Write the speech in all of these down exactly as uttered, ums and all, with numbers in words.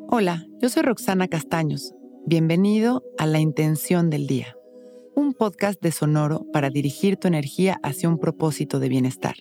Hola, yo soy Roxana Castaños. Bienvenido a La Intención del Día, un podcast de Sonoro para dirigir tu energía hacia un propósito de bienestar.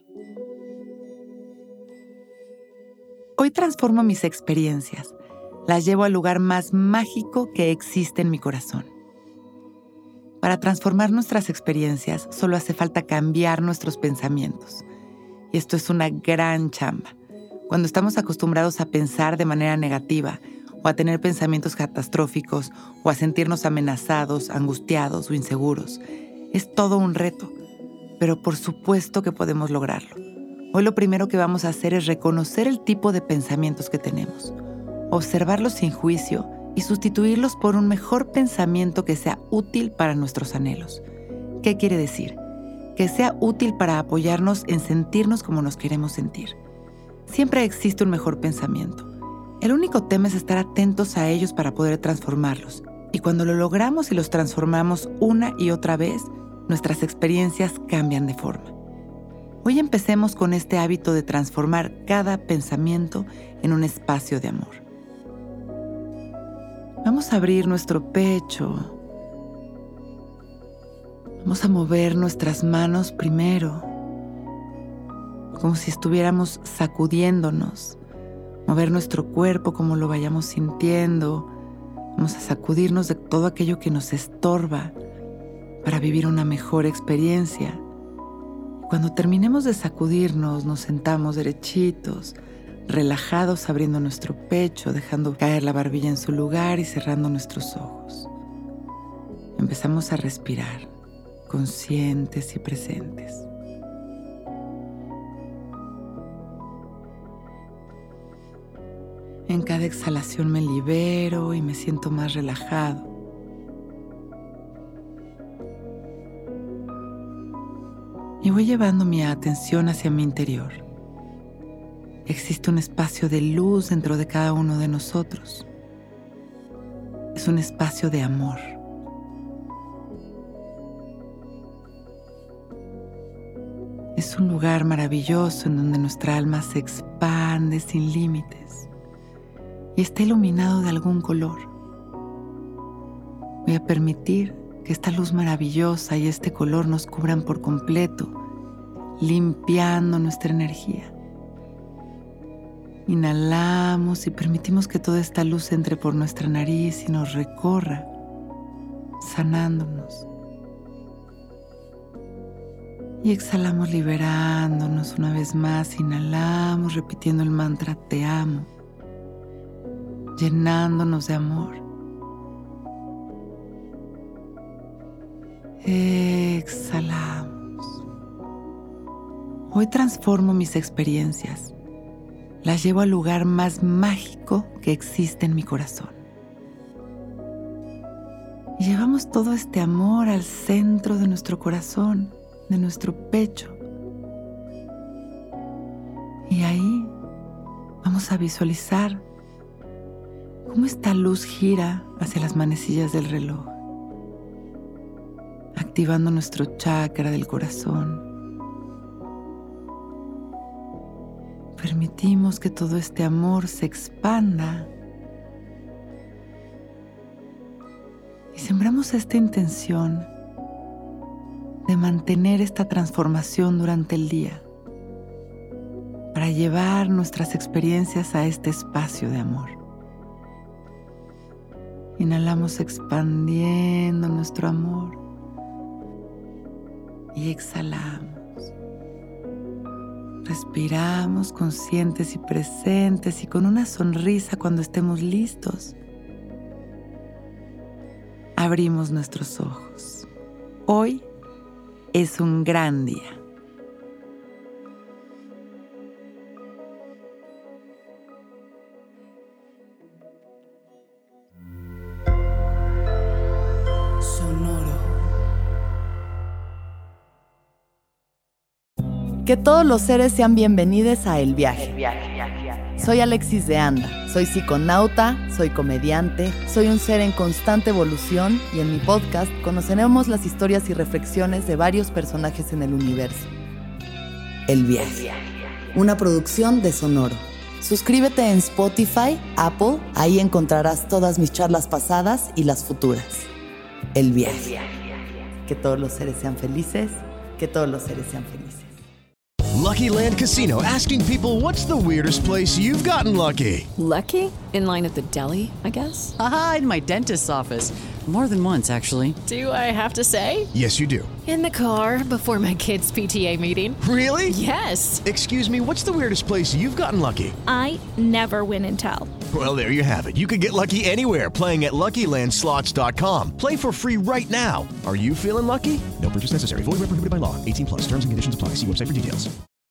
Hoy transformo mis experiencias, las llevo al lugar más mágico que existe en mi corazón. Para transformar nuestras experiencias solo hace falta cambiar nuestros pensamientos. Y esto es una gran chamba. Cuando estamos acostumbrados a pensar de manera negativa, o a tener pensamientos catastróficos, o a sentirnos amenazados, angustiados o inseguros. Es todo un reto, pero por supuesto que podemos lograrlo. Hoy lo primero que vamos a hacer es reconocer el tipo de pensamientos que tenemos, observarlos sin juicio y sustituirlos por un mejor pensamiento que sea útil para nuestros anhelos. ¿Qué quiere decir? Que sea útil para apoyarnos en sentirnos como nos queremos sentir. Siempre existe un mejor pensamiento. El único tema es estar atentos a ellos para poder transformarlos. Y cuando lo logramos y los transformamos una y otra vez, nuestras experiencias cambian de forma. Hoy empecemos con este hábito de transformar cada pensamiento en un espacio de amor. Vamos a abrir nuestro pecho. Vamos a mover nuestras manos primero, como si estuviéramos sacudiéndonos. Mover nuestro cuerpo como lo vayamos sintiendo. Vamos a sacudirnos de todo aquello que nos estorba para vivir una mejor experiencia. Cuando terminemos de sacudirnos, nos sentamos derechitos, relajados, abriendo nuestro pecho, dejando caer la barbilla en su lugar y cerrando nuestros ojos. Empezamos a respirar, conscientes y presentes. En cada exhalación me libero y me siento más relajado. Y voy llevando mi atención hacia mi interior. Existe un espacio de luz dentro de cada uno de nosotros. Es un espacio de amor. Es un lugar maravilloso en donde nuestra alma se expande sin límites. Y está iluminado de algún color. Voy a permitir que esta luz maravillosa y este color nos cubran por completo, limpiando nuestra energía. Inhalamos y permitimos que toda esta luz entre por nuestra nariz y nos recorra, sanándonos. Y exhalamos liberándonos una vez más. Inhalamos repitiendo el mantra Te amo, llenándonos de amor. Exhalamos. Hoy transformo mis experiencias. Las llevo al lugar más mágico que existe en mi corazón. Y llevamos todo este amor al centro de nuestro corazón, de nuestro pecho. Y ahí vamos a visualizar cómo esta luz gira hacia las manecillas del reloj, activando nuestro chakra del corazón. Permitimos que todo este amor se expanda y sembramos esta intención de mantener esta transformación durante el día para llevar nuestras experiencias a este espacio de amor. Inhalamos expandiendo nuestro amor y exhalamos. Respiramos conscientes y presentes y con una sonrisa cuando estemos listos. Abrimos nuestros ojos. Hoy es un gran día. Que todos los seres sean bienvenidos a El Viaje. Soy Alexis de Anda, soy psiconauta, soy comediante, soy un ser en constante evolución y en mi podcast conoceremos las historias y reflexiones de varios personajes en el universo. El Viaje, una producción de Sonoro. Suscríbete en Spotify, Apple, ahí encontrarás todas mis charlas pasadas y las futuras. El viaje. Que todos los seres sean felices, que todos los seres sean felices. Lucky Land Casino, asking people, what's the weirdest place you've gotten lucky? Lucky? In line at the deli, I guess? Aha, in my dentist's office. More than once, actually. Do I have to say? Yes, you do. In the car before my kids' P T A meeting. Really? Yes. Excuse me, what's the weirdest place you've gotten lucky? I never win and tell. Well, there you have it. You can get lucky anywhere, playing at Lucky Land Slots dot com. Play for free right now. Are you feeling lucky? No purchase necessary. Void where prohibited by law. eighteen plus. Terms and conditions apply. See website for details.